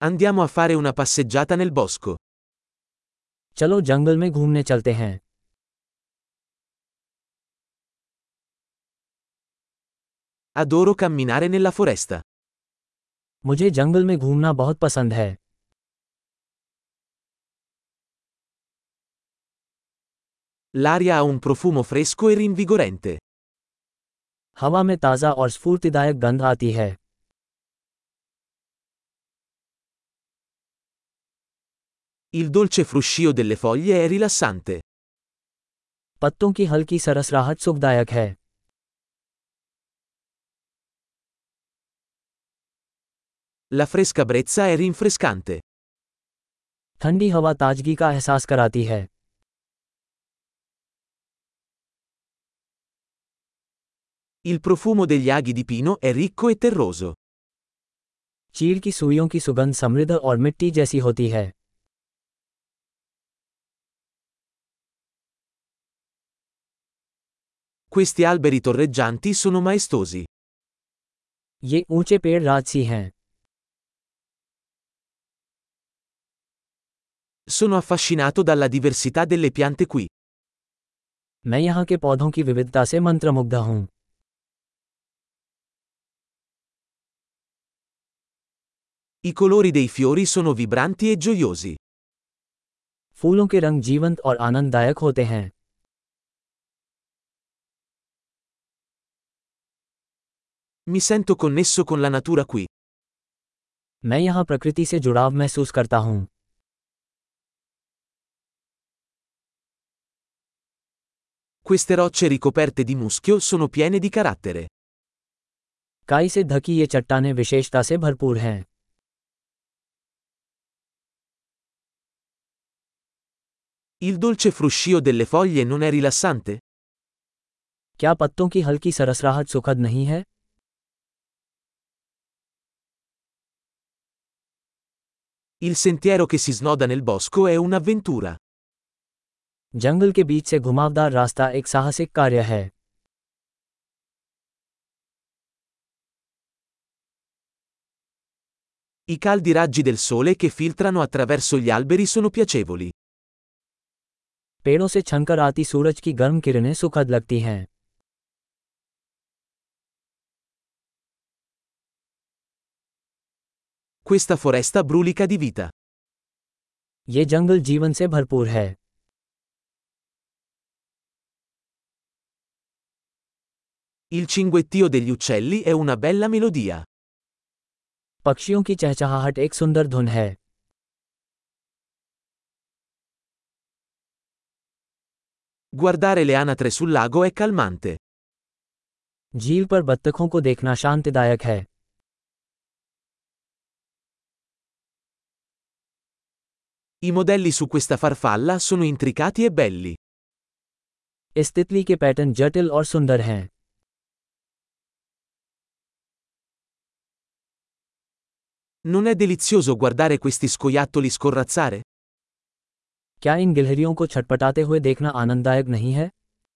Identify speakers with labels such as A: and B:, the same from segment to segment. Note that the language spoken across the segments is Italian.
A: Andiamo a fare una passeggiata nel bosco.
B: चलो जंगल में घूमने चलते हैं।
A: Adoro camminare nella foresta.
B: मुझे जंगल में घूमना बहुत पसंद है।
A: L'aria ha un profumo fresco e rinvigorente.
B: हवा में ताज़ा और स्फूर्तिदायक गंध आती है।
A: Il dolce fruscio delle foglie è rilassante.
B: पत्तों की हल्की सरसराहट सुखदायक है।
A: La fresca brezza è rinfrescante.
B: ठंडी हवा ताजगी का एहसास कराती है।
A: Il profumo degli aghi di pino è ricco e terroso.
B: चीड़ की सुइयों की सुगंध समृद्ध और मिट्टी जैसी होती है।
A: Questi alberi torreggianti sono maestosi.
B: ये ऊंचे पेड़ राजसी हैं।
A: Sono affascinato dalla diversità delle piante qui.
B: मैं यहाँ के पौधों की विविधता से मंत्रमुग्ध हूँ।
A: I colori dei fiori sono vibranti e gioiosi.
B: फूलों के रंग जीवंत और आनंददायक होते हैं।
A: Mi sento connesso con la natura qui.
B: मैं यहाँ प्रकृति से जुड़ाव महसूस करता हूँ।
A: Queste rocce ricoperte di muschio sono piene di carattere.
B: काई से ढकी ये चट्टानें विशेषता से भरपूर हैं।
A: Il dolce fruscio delle foglie non è rilassante?
B: क्या पत्तों की हल्की सरसराहट सुखद नहीं है?
A: Il sentiero che si snoda nel bosco è un'avventura.
B: जंगल के बीच से घुमावदार रास्ता एक साहसिक कार्य है।
A: I caldi raggi del sole che filtrano attraverso gli alberi sono piacevoli.
B: पेड़ों से छनकर आती सूरज की गर्म किरणें सुखद लगती हैं।
A: Questa foresta brulica di vita.
B: ये जंगल जीवन से भरपूर है।
A: Il cinguettio degli uccelli è una bella melodia.
B: पक्षियों की चहचहाहट एक सुंदर धुन है।
A: Guardare le anatre sul lago è calmante.
B: झील पर बत्तखों को देखना शांतिदायक है।
A: I modelli su questa farfalla sono intricati e belli.
B: इस तितली के पैटर्न जटिल और सुंदर हैं।
A: Non è delizioso guardare questi scoiattoli scorrazzare?
B: क्या इन गिलहरियों को छटपटाते हुए देखना आनंददायक नहीं है?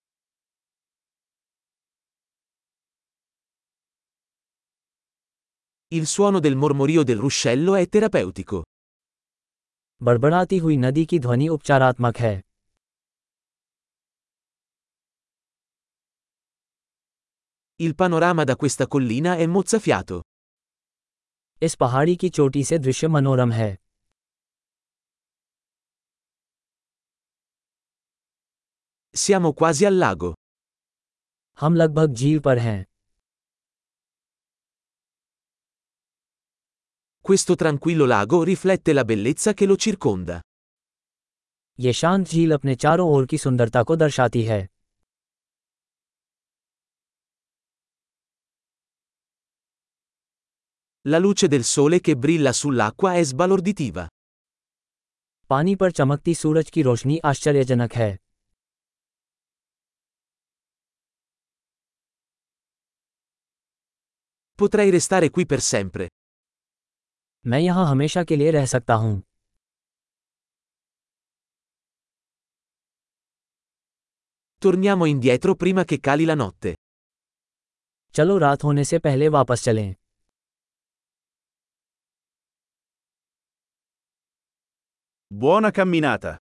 A: Il suono del mormorio del ruscello è terapeutico.
B: बड़बड़ाती हुई नदी की ध्वनि उपचारात्मक है।
A: Il panorama da questa collina è mozzafiato.
B: इस पहाड़ी की चोटी से दृश्य मनोरम है।
A: Siamo quasi al lago.
B: हम लगभग झील पर हैं।
A: Questo tranquillo lago riflette la bellezza che lo circonda.
B: ये शांत झील अपने चारों ओर की सुंदरता को दर्शाती है।
A: La luce del sole che brilla sull'acqua è sbalorditiva.
B: पानी पर चमकती सूरज की रोशनी आश्चर्यजनक है।
A: Potrei restare qui per sempre.
B: मैं यहाँ हमेशा के लिए रह सकता हूँ।
A: Torniamo indietro prima che cali la notte.
B: चलो रात होने से पहले वापस चलें।
C: Buona camminata.